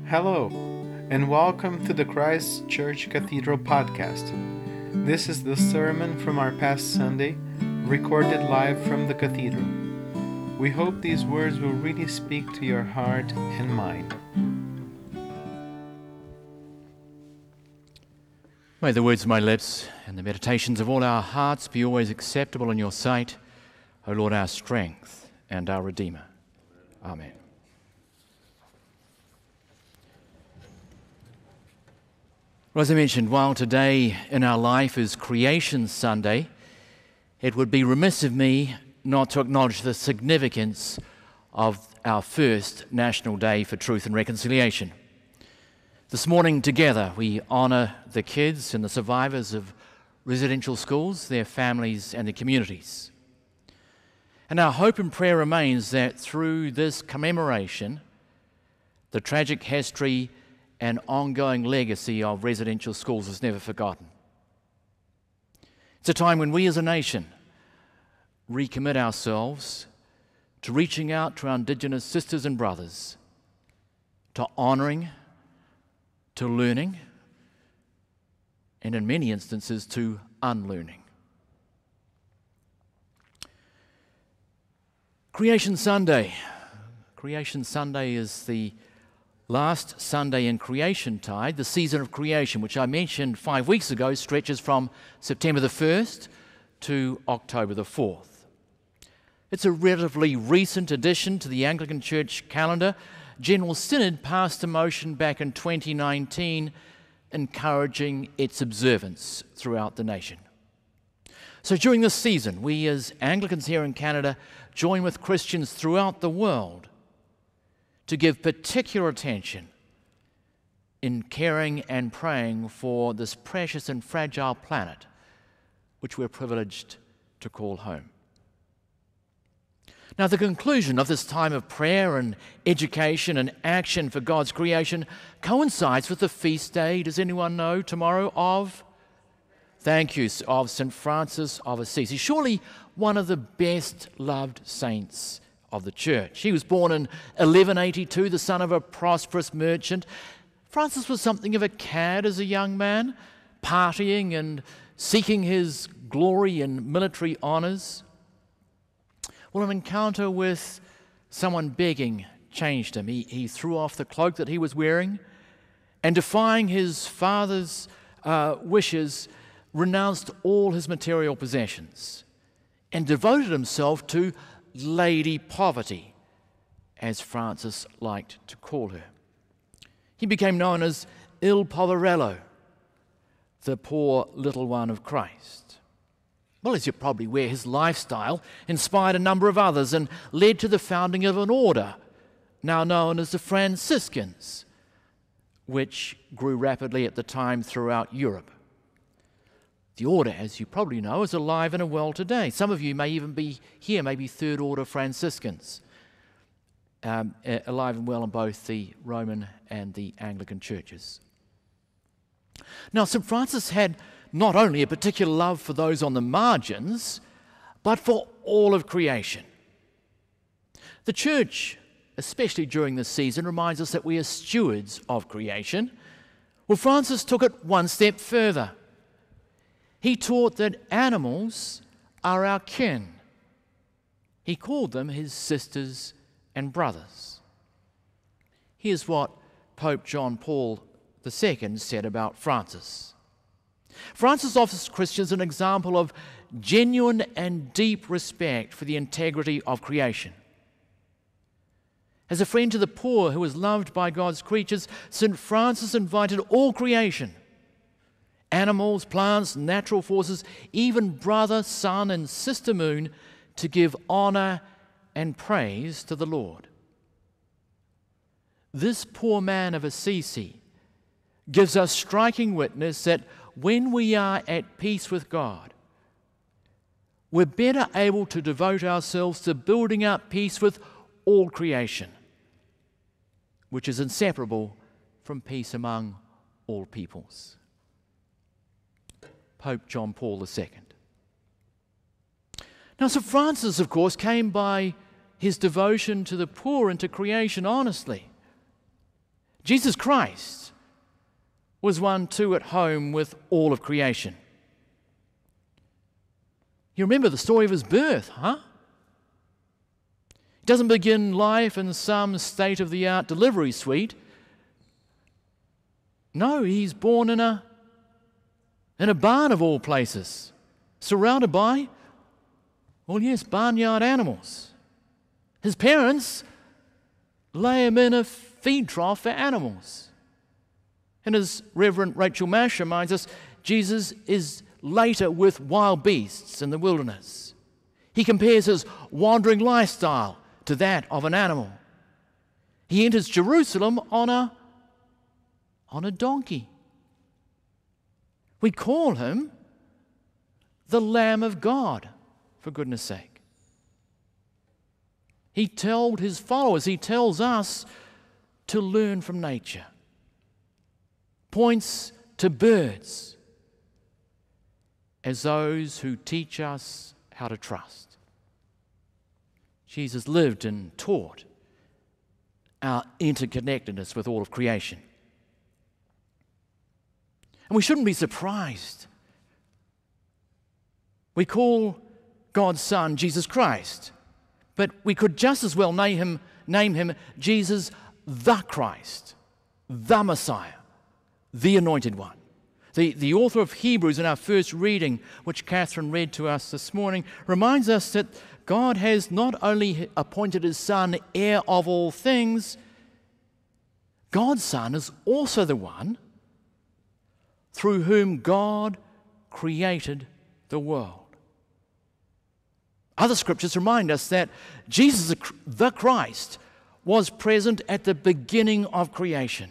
Hello, and welcome to the Christ Church Cathedral podcast. This is the sermon from our past Sunday, recorded live from the cathedral. We hope these words will really speak to your heart and mind. May the words of my lips and the meditations of all our hearts be always acceptable in your sight, O Lord, our strength and our Redeemer. Amen. Well, as I mentioned, while today in our life is Creation Sunday, it would be remiss of me not to acknowledge the significance of our first National Day for Truth and Reconciliation. This morning together we honour the kids and the survivors of residential schools, their families and their communities. And our hope and prayer remains that through this commemoration, the tragic history and ongoing legacy of residential schools is never forgotten. It's a time when we as a nation recommit ourselves to reaching out to our Indigenous sisters and brothers, to honouring, to learning, and in many instances to unlearning. Creation Sunday. Creation Sunday is the last Sunday in Creation Tide. The season of creation, which I mentioned 5 weeks ago, stretches from September the 1st to October the 4th. It's a relatively recent addition to the Anglican Church calendar. General Synod passed a motion back in 2019 encouraging its observance throughout the nation. So during this season, we as Anglicans here in Canada join with Christians throughout the world to give particular attention in caring and praying for this precious and fragile planet which we're privileged to call home. Now, the conclusion of this time of prayer and education and action for God's creation coincides with the feast day, does anyone know, tomorrow of? Thank you, of St. Francis of Assisi. Surely one of the best loved saints of the church. He was born in 1182, the son of a prosperous merchant. Francis was something of a cad as a young man, partying and seeking his glory in military honours. Well, an encounter with someone begging changed him. He threw off the cloak that he was wearing and, defying his father's wishes, renounced all his material possessions and devoted himself to Lady Poverty, as Francis liked to call her. He became known as Il Poverello, the poor little one of Christ. Well, as you're probably aware, his lifestyle inspired a number of others and led to the founding of an order now known as the Franciscans, which grew rapidly at the time throughout Europe. The order, as you probably know, is alive and well today. Some of you may even be here, maybe Third Order Franciscans, alive and well in both the Roman and the Anglican churches. Now, St. Francis had not only a particular love for those on the margins, but for all of creation. The church, especially during this season, reminds us that we are stewards of creation. Well, Francis took it one step further. He taught that animals are our kin. He called them his sisters and brothers. Here's what Pope John Paul II said about Francis. Francis offers Christians an example of genuine and deep respect for the integrity of creation. As a friend to the poor who was loved by God's creatures, St. Francis invited all creation, animals, plants, natural forces, even brother, sun, and sister moon, to give honour and praise to the Lord. This poor man of Assisi gives us striking witness that when we are at peace with God, we're better able to devote ourselves to building up peace with all creation, which is inseparable from peace among all peoples. Pope John Paul II. Now, St. Francis, of course, came by his devotion to the poor and to creation honestly. Jesus Christ was one too at home with all of creation. You remember the story of his birth, huh? He doesn't begin life in some state-of-the-art delivery suite. No, he's born in a barn of all places, surrounded by, well, yes, barnyard animals. His parents lay him in a feed trough for animals. And as Reverend Rachel Mash reminds us, Jesus is later with wild beasts in the wilderness. He compares his wandering lifestyle to that of an animal. He enters Jerusalem on a donkey. We call him the Lamb of God, for goodness sake. He told his followers, he tells us to learn from nature. Points to birds as those who teach us how to trust. Jesus lived and taught our interconnectedness with all of creation. And we shouldn't be surprised. We call God's Son Jesus Christ, but we could just as well name him Jesus the Christ, the Messiah, the Anointed One. The author of Hebrews in our first reading, which Catherine read to us this morning, reminds us that God has not only appointed his Son heir of all things, God's Son is also the one through whom God created the world. Other scriptures remind us that Jesus the Christ was present at the beginning of creation.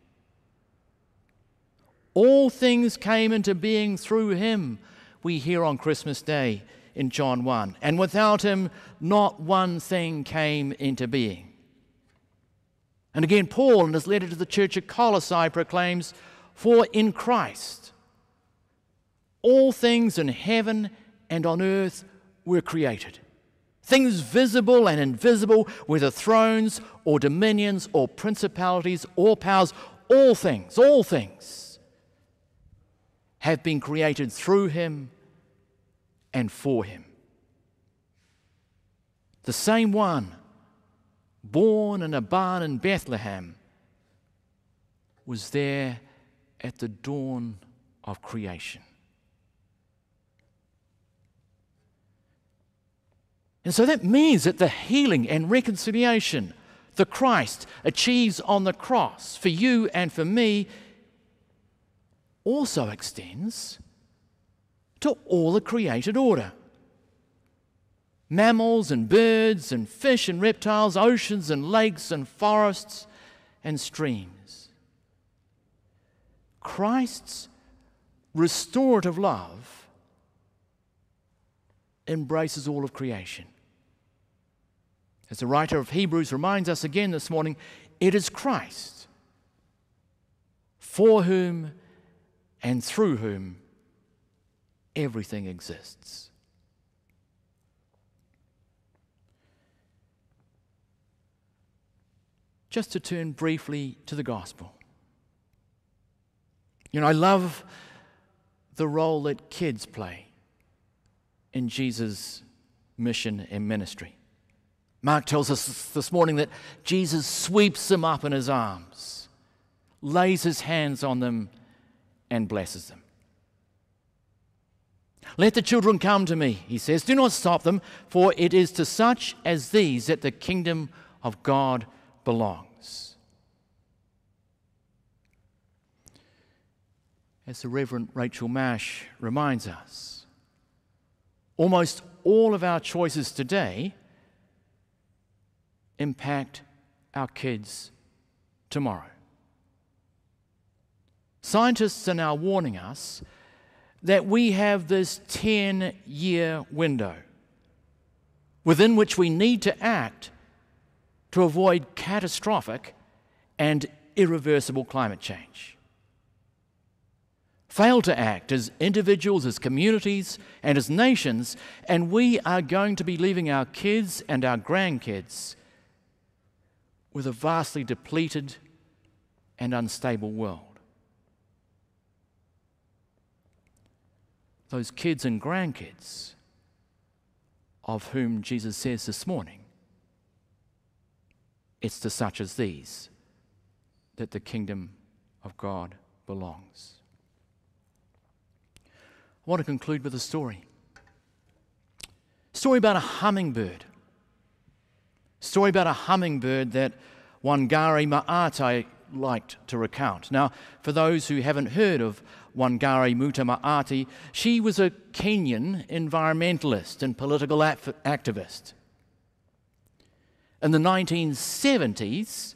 All things came into being through him, we hear on Christmas Day in John 1. And without him, not one thing came into being. And again, Paul, in his letter to the church at Colossae, proclaims, "For in Christ all things in heaven and on earth were created. Things visible and invisible, whether thrones or dominions or principalities or powers, all things have been created through him and for him." The same one, born in a barn in Bethlehem, was there at the dawn of creation. And so that means that the healing and reconciliation the Christ achieves on the cross for you and for me also extends to all the created order. Mammals and birds and fish and reptiles, oceans and lakes and forests and streams. Christ's restorative love embraces all of creation. As the writer of Hebrews reminds us again this morning, it is Christ for whom and through whom everything exists. Just to turn briefly to the gospel. You know, I love the role that kids play in Jesus' mission and ministry. Mark tells us this morning that Jesus sweeps them up in his arms, lays his hands on them, and blesses them. "Let the children come to me," he says. "Do not stop them, for it is to such as these that the kingdom of God belongs." As the Reverend Rachel Mash reminds us, almost all of our choices today impact our kids tomorrow. Scientists are now warning us that we have this 10-year window within which we need to act to avoid catastrophic and irreversible climate change. Fail to act as individuals, as communities, and as nations, and we are going to be leaving our kids and our grandkids with a vastly depleted, and unstable world. Those kids and grandkids of whom Jesus says this morning, it's to such as these that the kingdom of God belongs. I want to conclude with a story. A story about a hummingbird. A story about a hummingbird that Wangari Maatai liked to recount. Now, for those who haven't heard of Wangari Maatai, she was a Kenyan environmentalist and political activist. In the 1970s,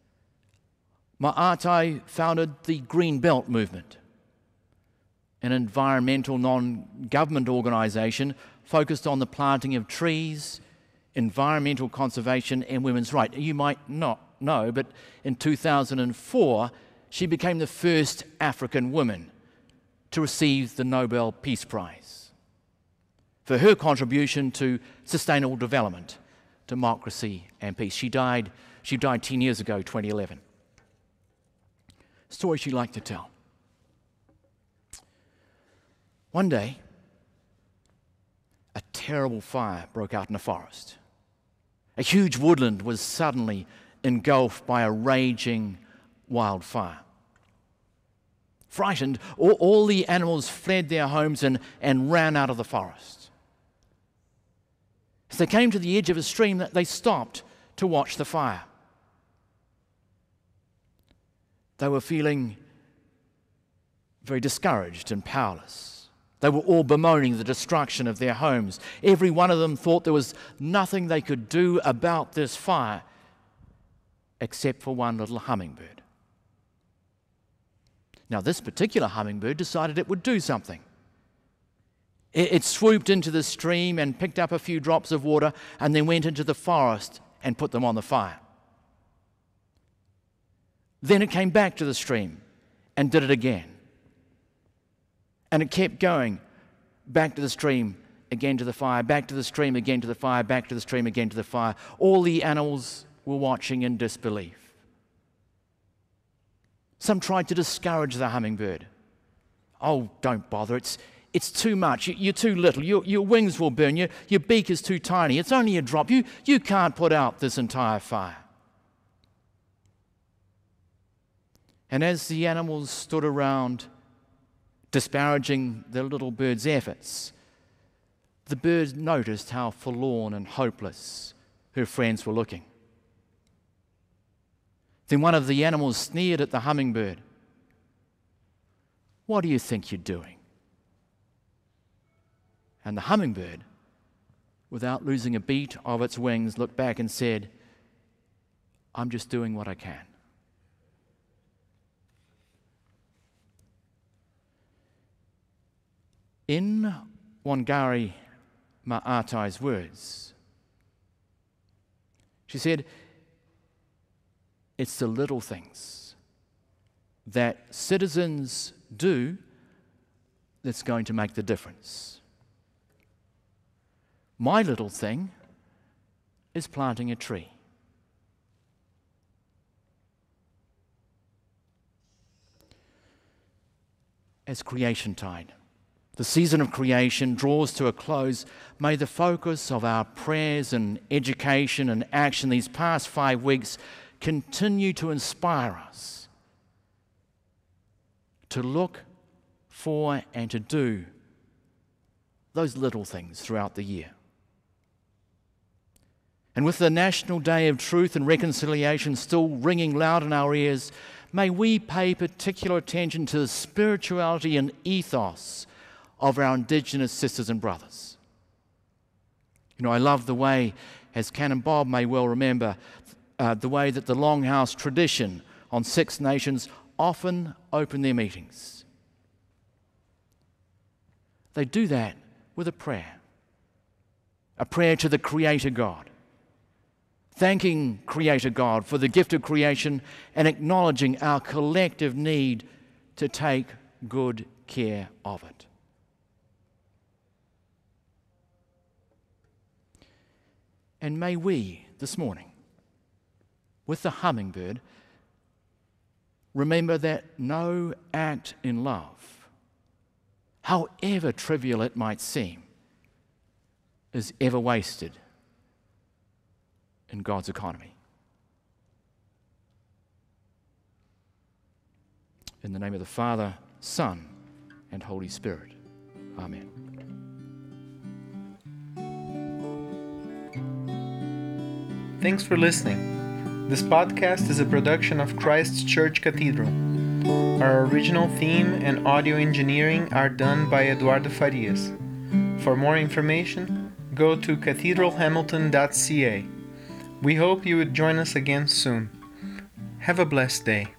Maatai founded the Green Belt movement, an environmental non-government organisation focused on the planting of trees, environmental conservation and women's rights. You might not know, but in 2004, she became the first African woman to receive the Nobel Peace Prize for her contribution to sustainable development, democracy and peace. She died 10 years ago, 2011. Story she liked to tell. One day, a terrible fire broke out in the forest. A huge woodland was suddenly engulfed by a raging wildfire. Frightened, all the animals fled their homes and ran out of the forest. As they came to the edge of a stream, they stopped to watch the fire. They were feeling very discouraged and powerless. They were all bemoaning the destruction of their homes. Every one of them thought there was nothing they could do about this fire except for one little hummingbird. Now, this particular hummingbird decided it would do something. It swooped into the stream and picked up a few drops of water and then went into the forest and put them on the fire. Then it came back to the stream and did it again. And it kept going, back to the stream, again to the fire, back to the stream, again to the fire, back to the stream, again to the fire. All the animals were watching in disbelief. Some tried to discourage the hummingbird. Oh, don't bother, it's too much, you're too little, your wings will burn, your beak is too tiny, it's only a drop, you can't put out this entire fire. And as the animals stood around disparaging the little bird's efforts, the bird noticed how forlorn and hopeless her friends were looking. Then one of the animals sneered at the hummingbird. "What do you think you're doing?" And the hummingbird, without losing a beat of its wings, looked back and said, "I'm just doing what I can." In Wangari Maatai's words, she said, it's the little things that citizens do that's going to make the difference. My little thing is planting a tree. As Creation Tide, the season of creation draws to a close, may the focus of our prayers and education and action these past 5 weeks continue to inspire us to look for and to do those little things throughout the year. And with the National Day of Truth and Reconciliation still ringing loud in our ears, may we pay particular attention to the spirituality and ethos of our Indigenous sisters and brothers. You know, I love the way, as Canon Bob may well remember, the way that the Longhouse tradition on Six Nations often open their meetings. They do that with a prayer to the Creator God, thanking Creator God for the gift of creation and acknowledging our collective need to take good care of it. And may we, this morning, with the hummingbird, remember that no act in love, however trivial it might seem, is ever wasted in God's economy. In the name of the Father, Son, and Holy Spirit. Amen. Thanks for listening. This podcast is a production of Christ Church Cathedral. Our original theme and audio engineering are done by Eduardo Farias. For more information, go to cathedralhamilton.ca. We hope you would join us again soon. Have a blessed day.